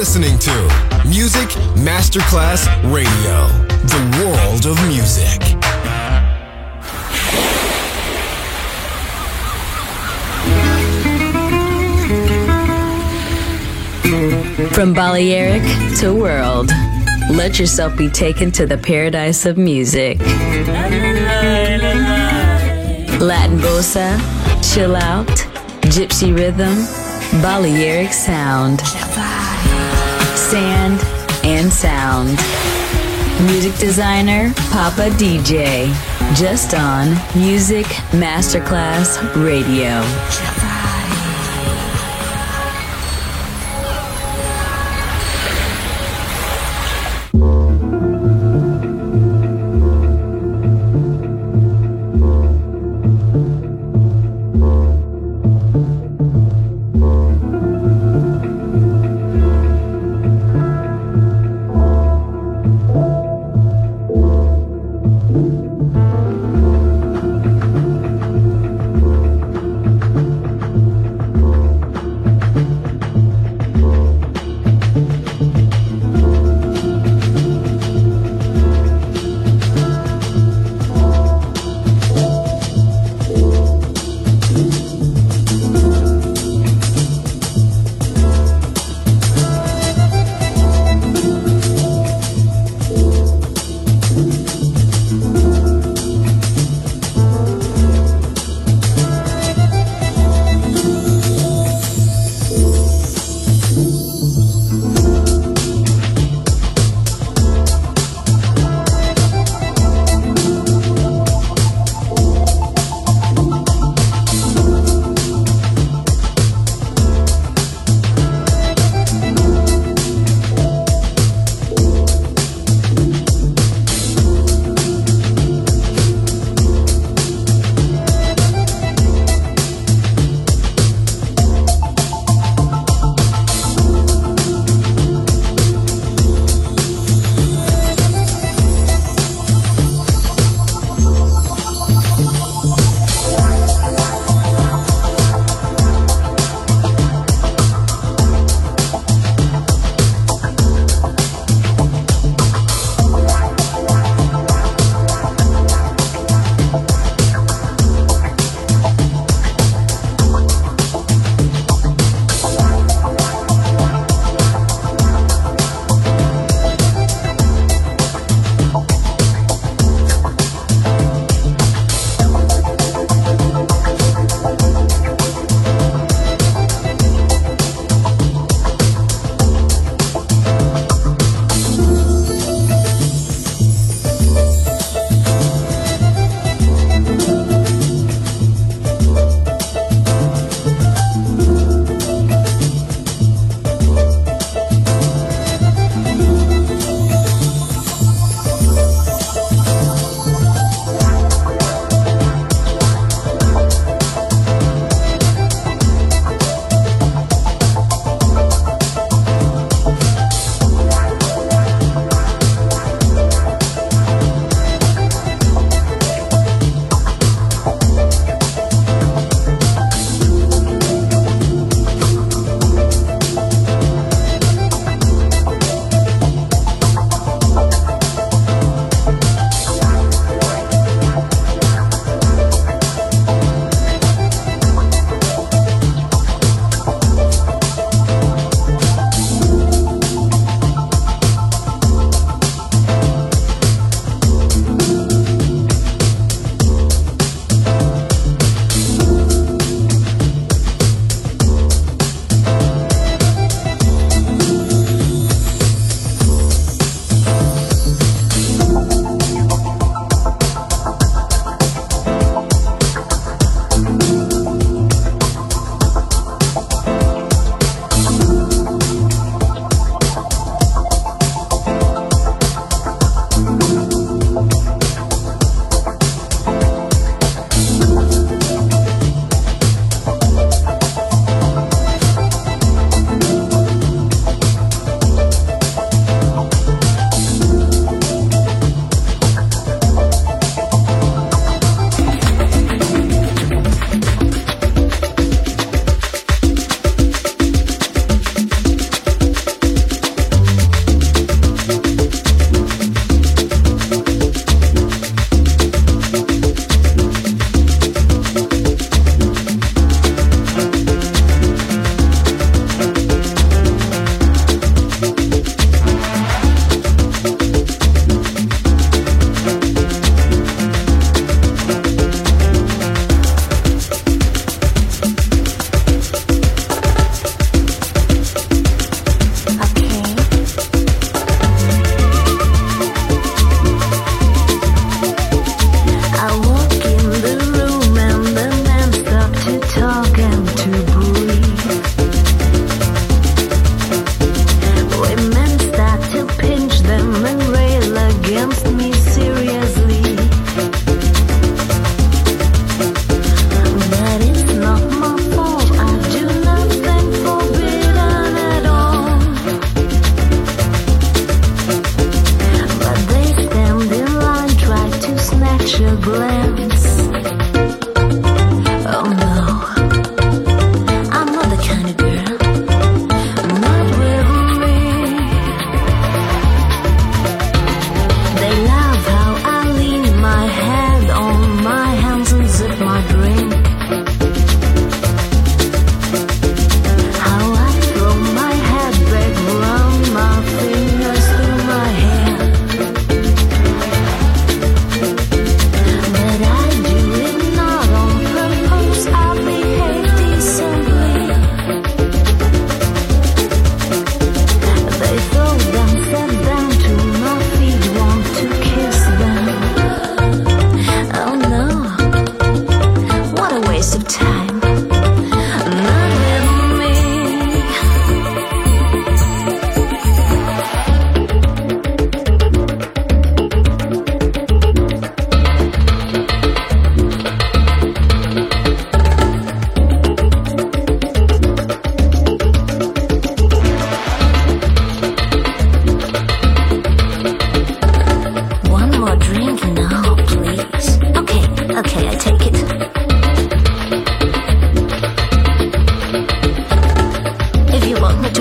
listening to Music Masterclass Radio, the world of music. From Balearic to world, let yourself be taken to the paradise of music. Latin bossa, chill out, gypsy rhythm, Balearic sound, sand and sound. Music designer, Papa DJ, just on Music Masterclass Radio.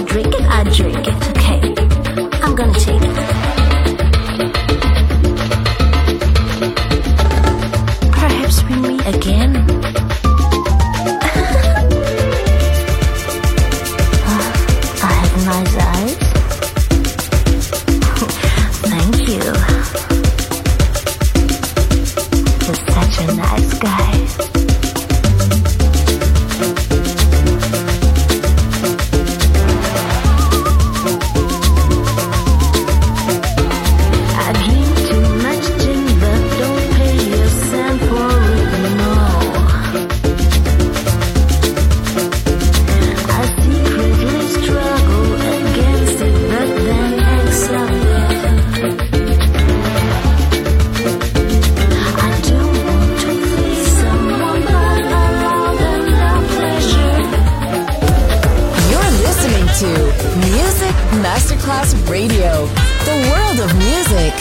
drink it, I drink it. Okay, I'm gonna take it. Perhaps we meet again. I have nice eyes. Thank you. You're such a nice guy. Masterclass Radio, the world of music.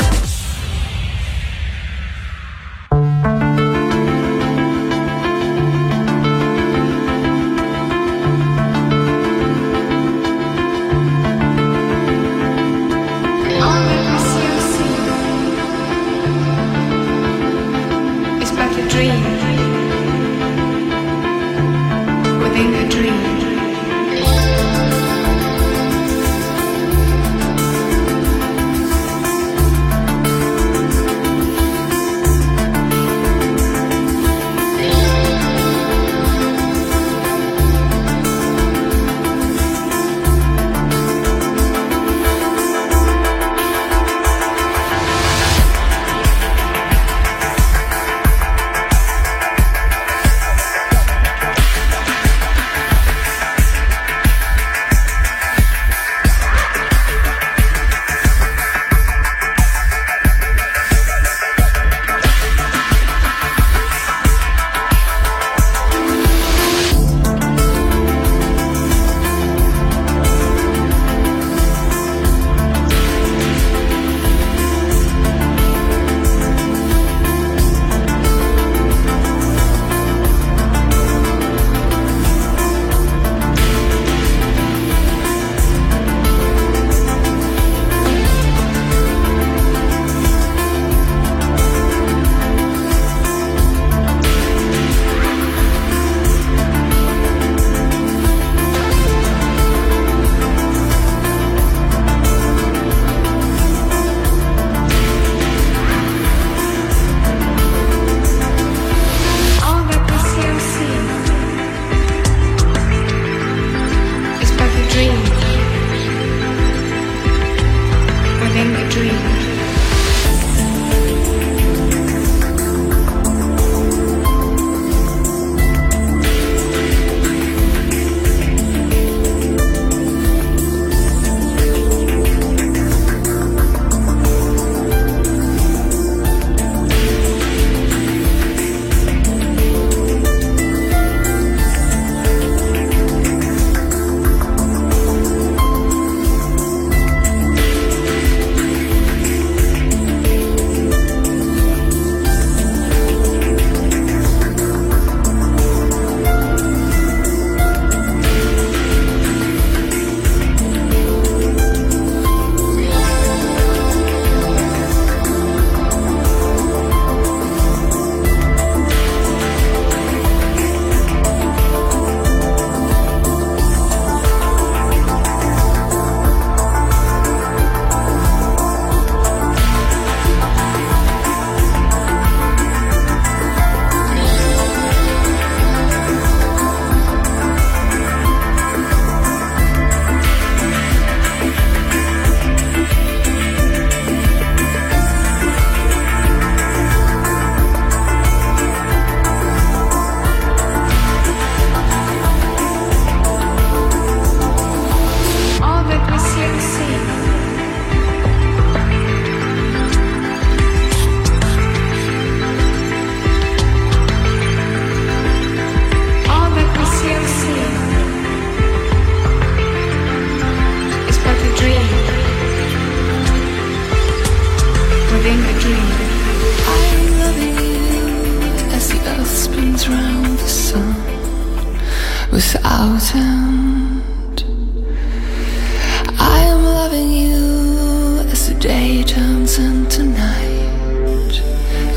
without end.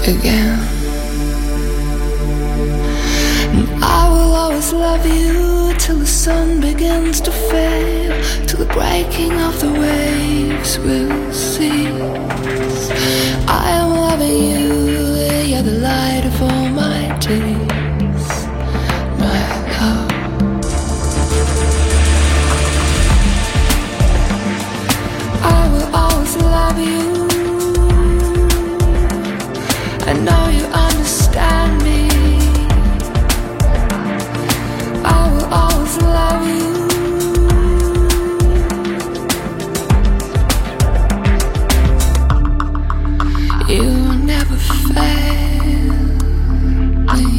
again. And I will always love you till the sun begins to fail, till the breaking of the waves will cease. I am loving you, you're the light of all my days, my love. I will always love you, I know you understand me. I will always love you. You will never fail me.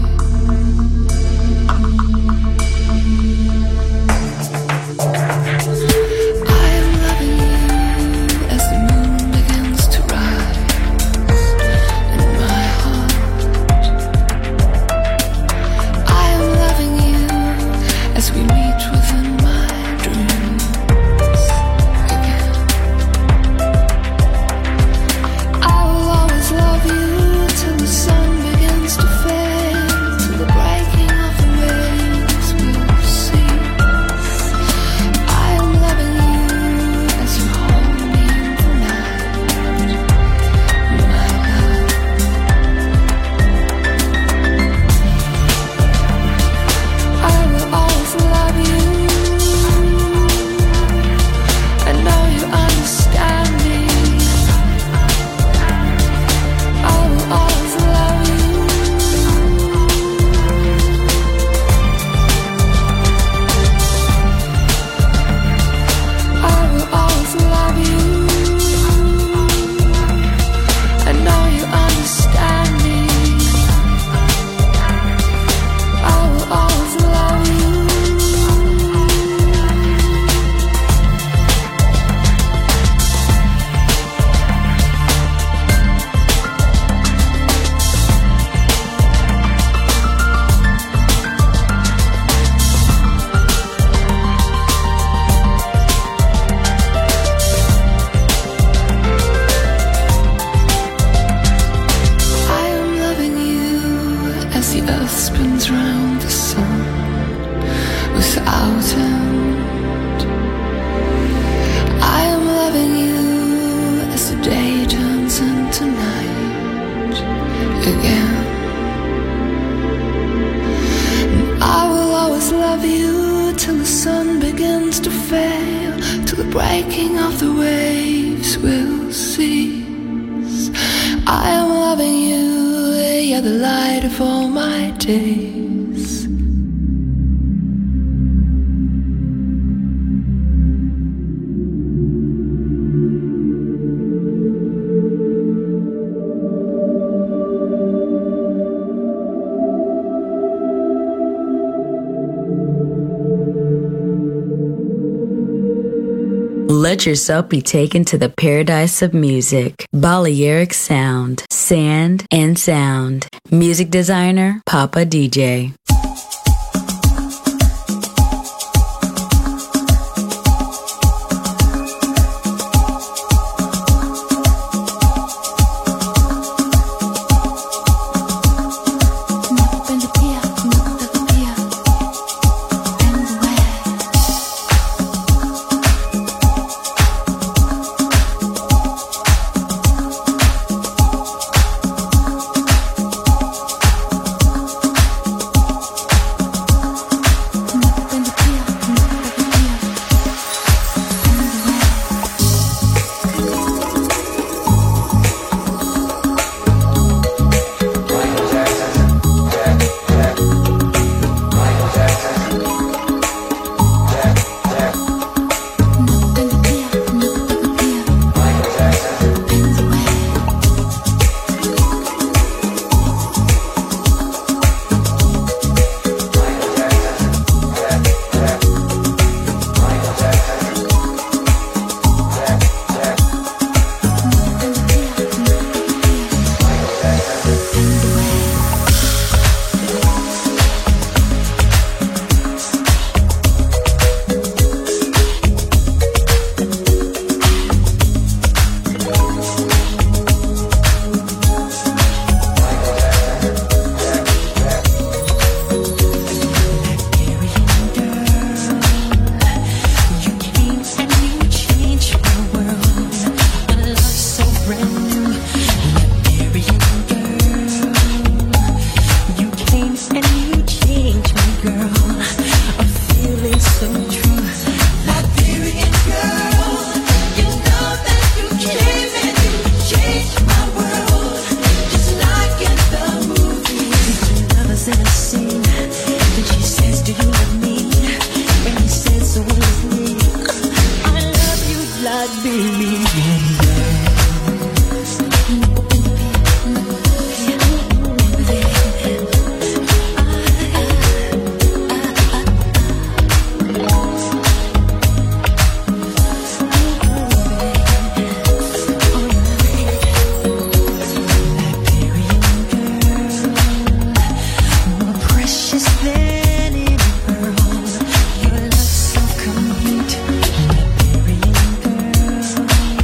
I am loving you as the moon begins to rise in my heart. I am loving you as we meet within my dreams again. I will always love you till the sun begins to fade, till the breaking of the waves will cease. I am loving you as you hold me in the night, my love. I will always love you, I know you understand me. I will always love you. I will always love you, I know you understand me. I will always love you. I am loving you as the earth spins round the sun without end. I am loving you as the day turns into night again. And I will always love you till the sun begins to fail, till the breaking of the waves will cease. I am loving you, you're the light of all my days. Let yourself be taken to the paradise of music. Balearic Sound, Sand and Sound. Music designer, Papa DJ. Liberian girl. Your love so complete, Liberian girl.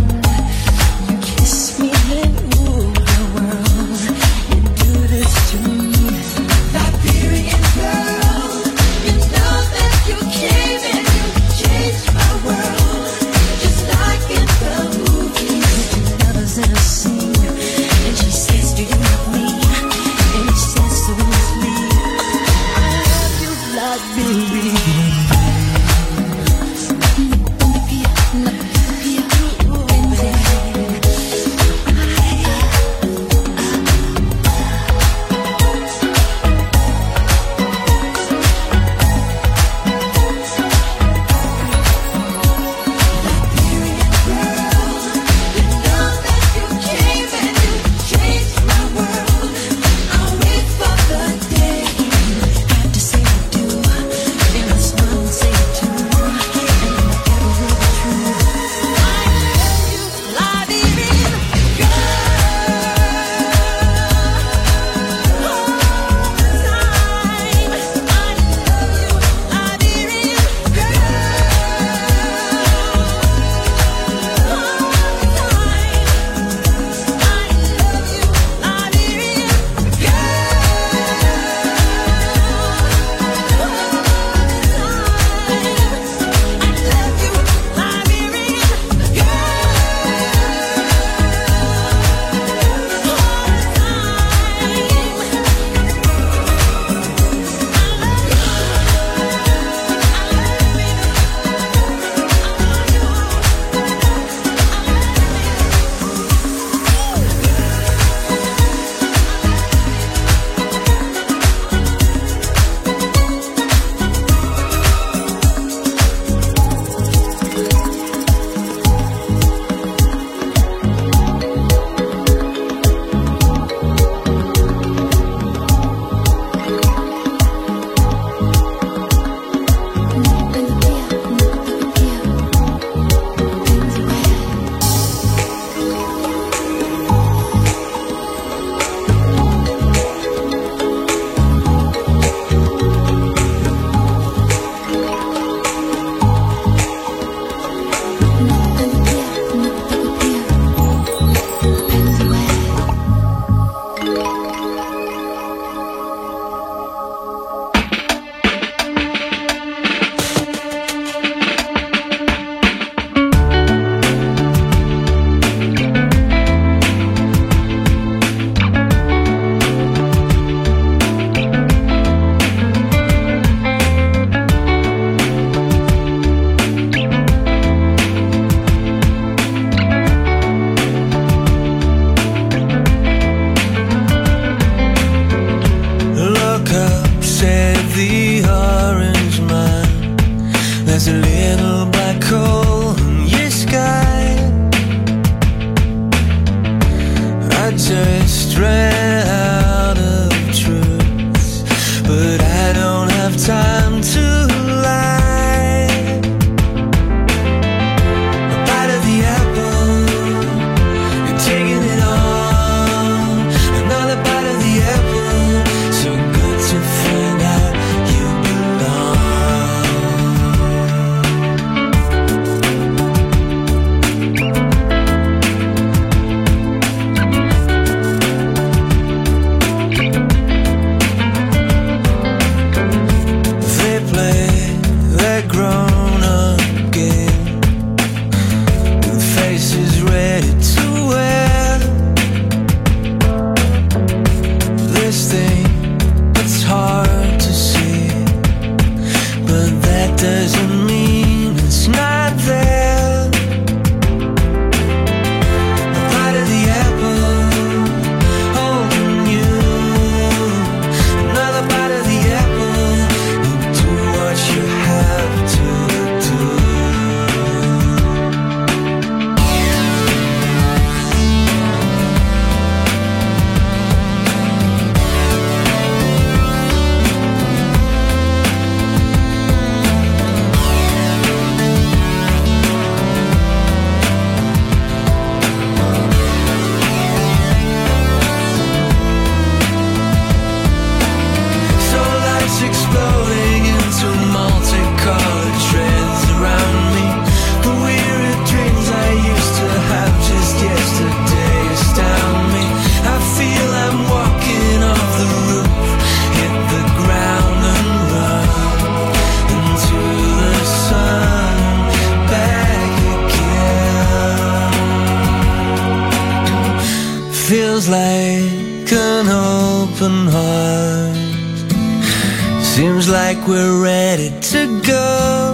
feels like an open heart. Seems like we're ready to go.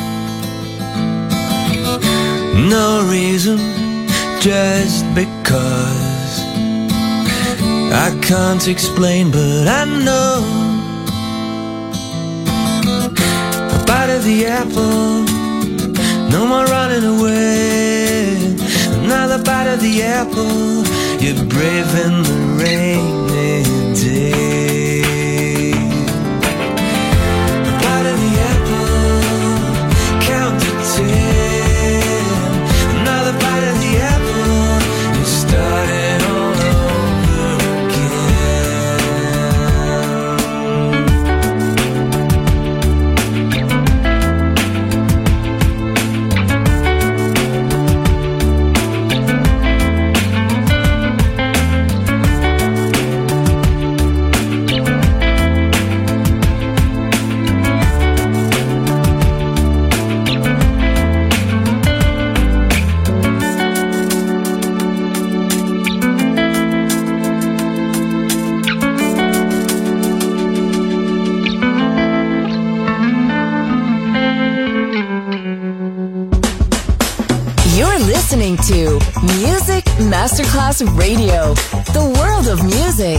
No reason, just because. I can't explain, but I know. A bite of the apple, no more running away. Another bite of the apple, you're brave in the rainy day. A bite of the apple, count to 10. Another bite of the apple, you started all over listening to Music Masterclass Radio, the world of music.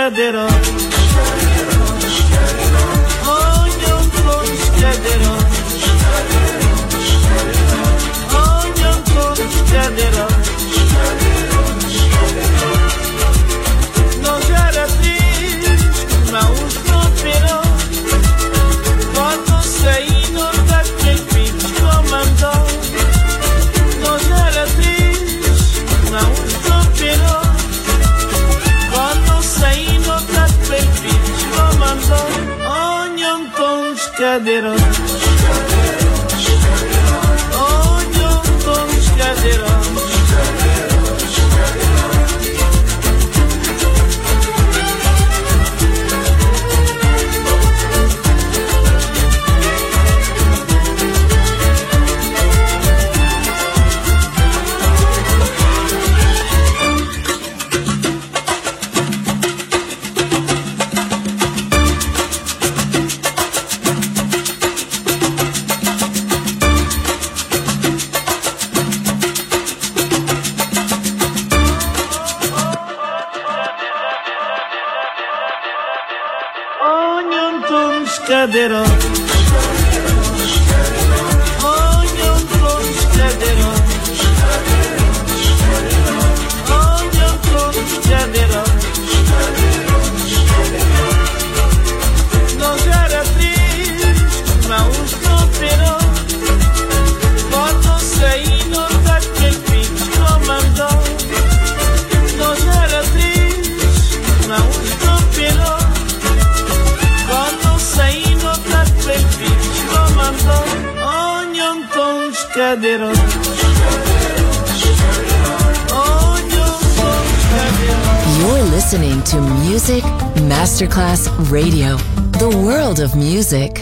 scadero. Ogni un po' scadero. Ogni un po' scadero. Non c'era triste, ma un sospiro. Quando sei non da quel piccolo mandò. Non c'era triste, ma un sospiro. Quando sei non da quel piccolo mandò. Ogni un po' scadero. Ogni un po' scadero. Scadero. Ogni un po' scadero. Ogni un po' scadero. Non c'era triste, ma un sospiro. Quando sei non da quel piccolo mandò. Non c'era triste, ma un sospiro. Quando sei nota quel piccolo mandò. Ogni un po' scadero. Ogni un po' scadero. You're listening to Music Masterclass Radio, the world of music.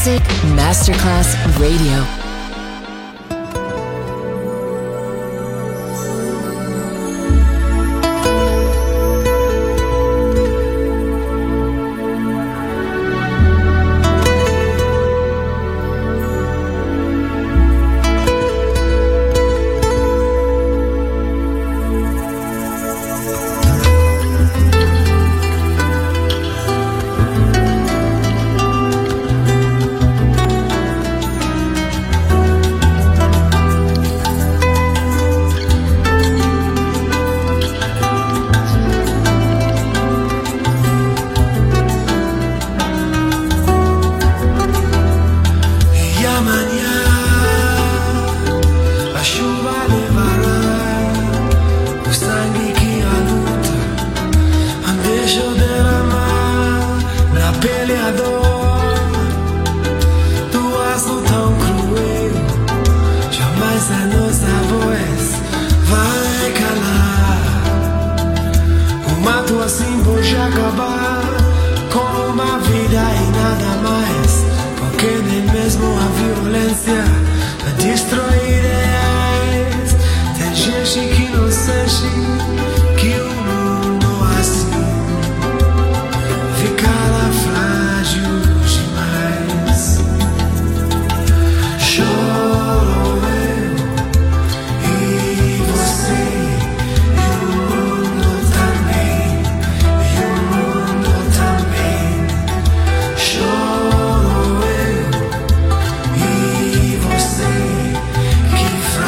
Music Masterclass Radio. Que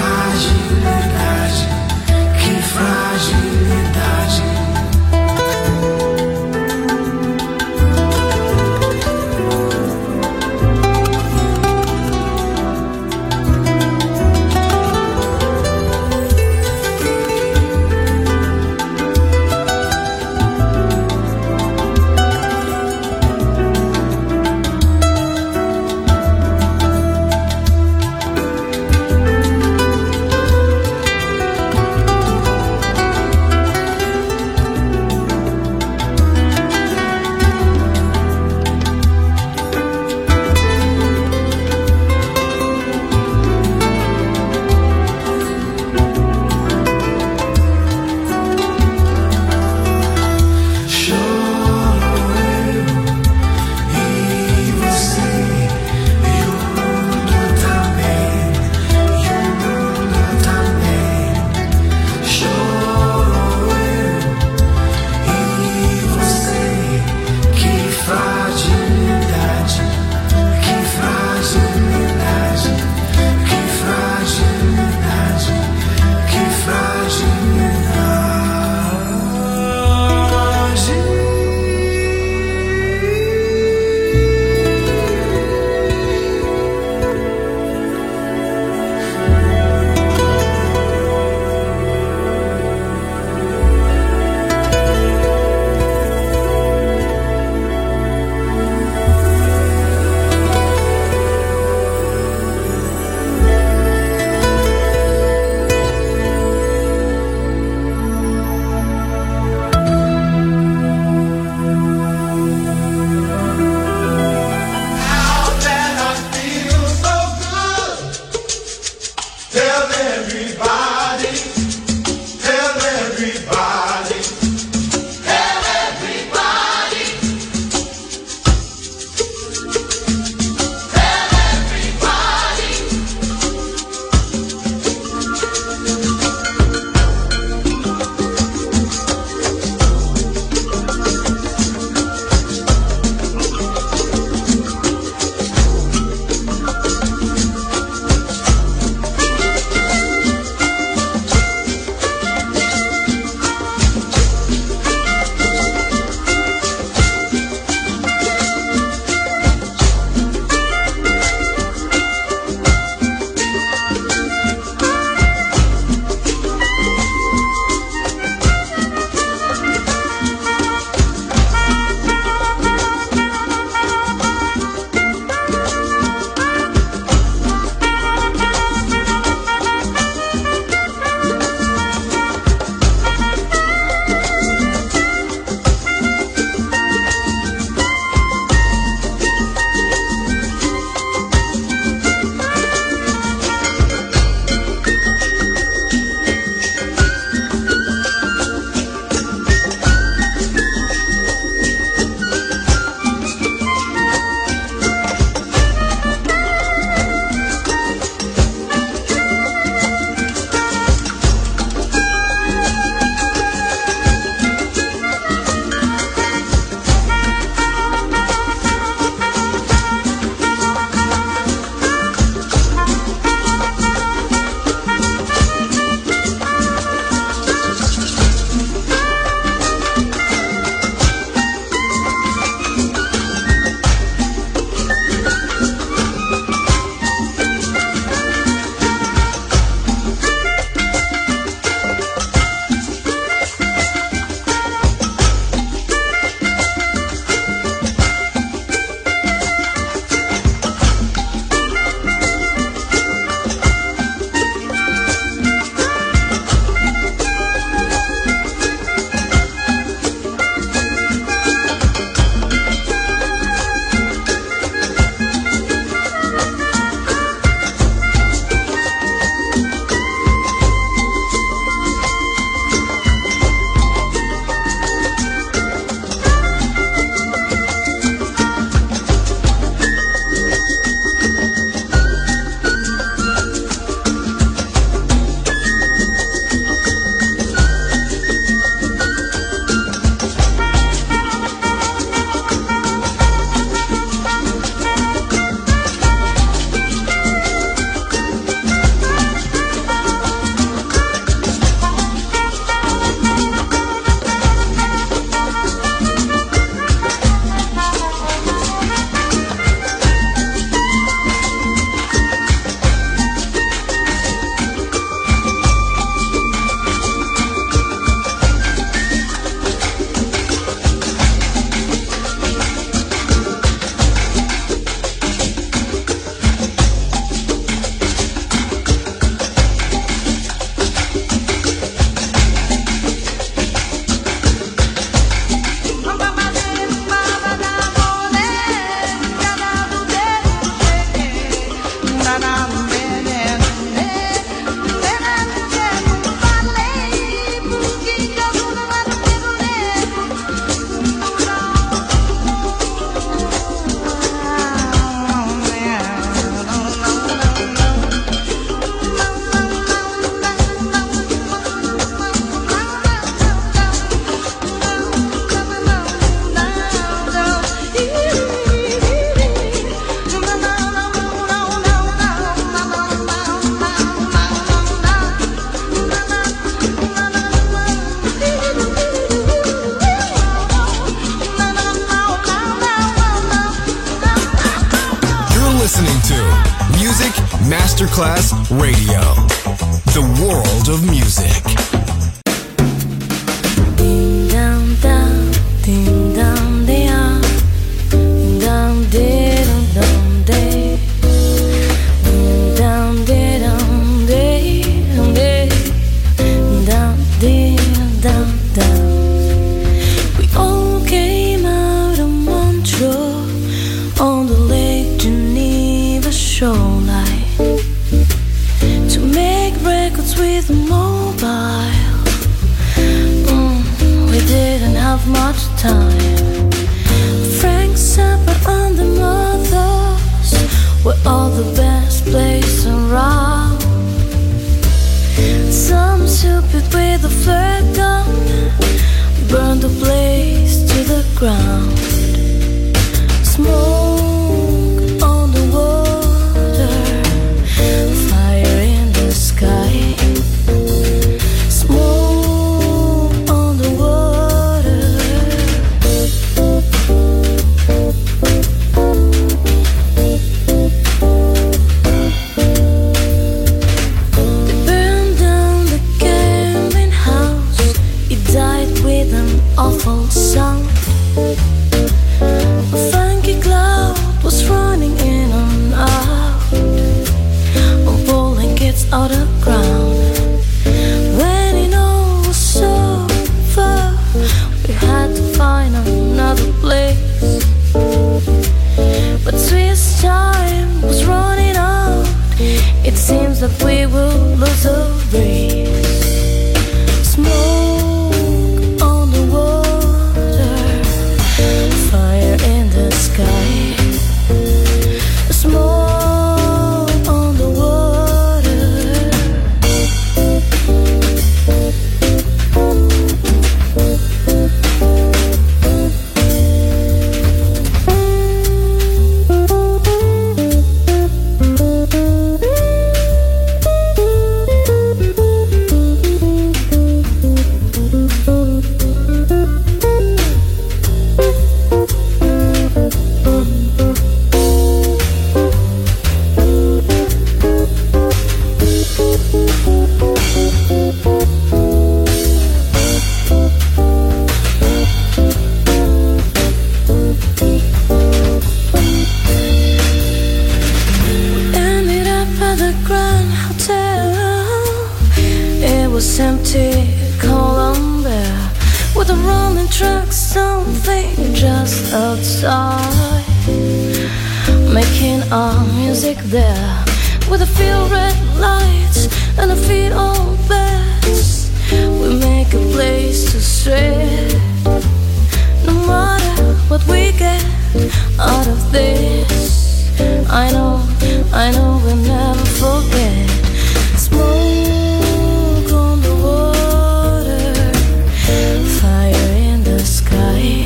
Masterclass Radio. The world of music. Ding dong dong, ding dong dong, ding dong ding dong day, ding dong ding dong day, ding dong ding dong dong. We all came out of Montreux on the Lake Geneva shoreline to make records with mobile. We didn't have much time. Frank Zappa and the Mothers were all the best players around. Some stupid with a flare gun burned the place to the ground. Smoke on the water, fire in the sky. Smoke on the water. They burned down the gambling house. It died with an awful sound. A funky cloud was running in and out, pulling kids out of ground. When it all was over, we had to find another place. But Swiss time was running out. It seems that we will lose the race. Smoke on the water, fire in the sky. Smoke on the water. Ended up at the Grand Hotel. It was empty, Columbia, with a rolling truck, something just outside, making our music there, with a few red lights and a feet on beds. We make a place to stray, no matter what we get out of this. I know we'll never forget. Smoke on the water, fire in the sky.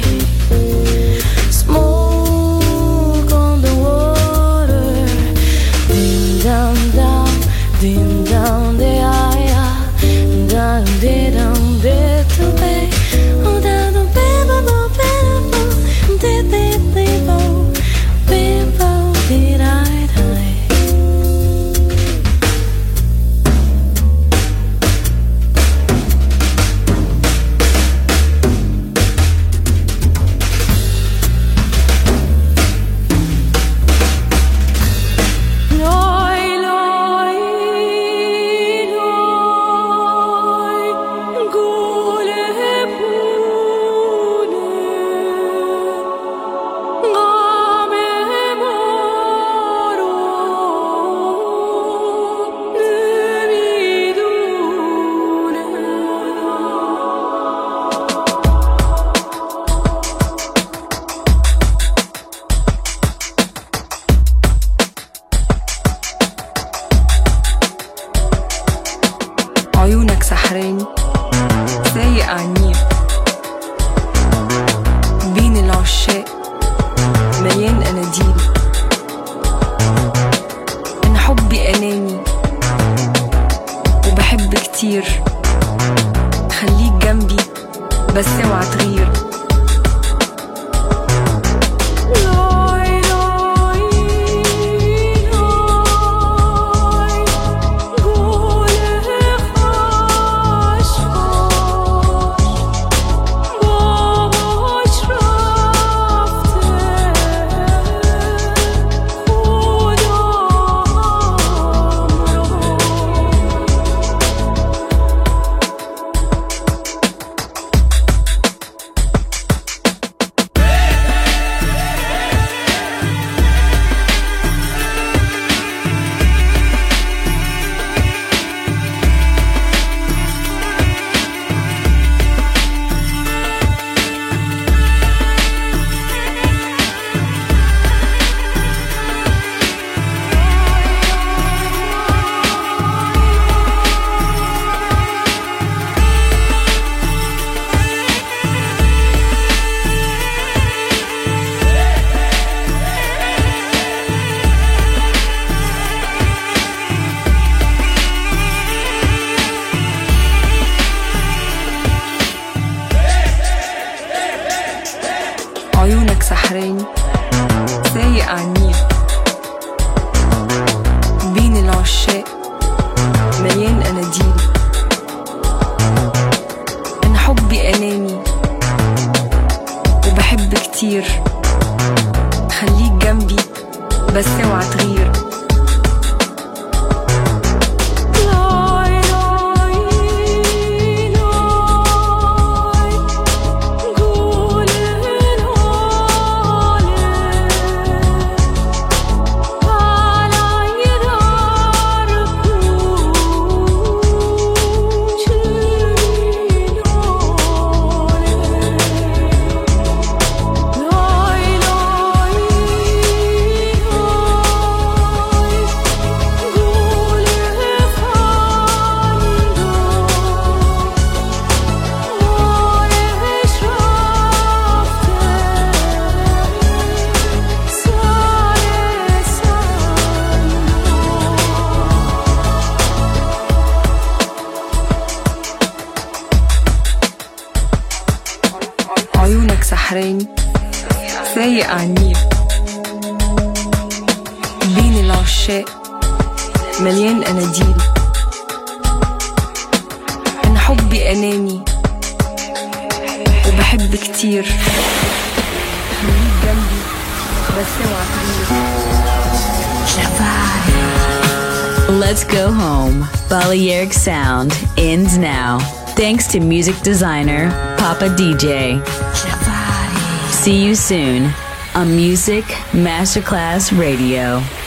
Smoke on the water, ding down down, ding down the eye, down de down de to bay, oh down the people, people, did they people, people did I die. عيونك سحراني سايق عنيف بين العشاق مليان اناديل. انا حبي اناني وبحب كتير، خليك جنبي بس اوعى تغير. عيونك سحراني سايق عنيل بين العشاق مليان أناديل. أنا حبي أناني وبحب كتير، خليك جنبي بس اوعى تغير. عيونك سحراني سايق عنيل بين العشاق مليان أناديل. أنا حبي أناني وبحب كتير، خليك جنبي بس اوعى تغير. Let's go home. Balearic Sound ends now. Thanks to music designer Papa DJ. See you soon on Music Masterclass Radio.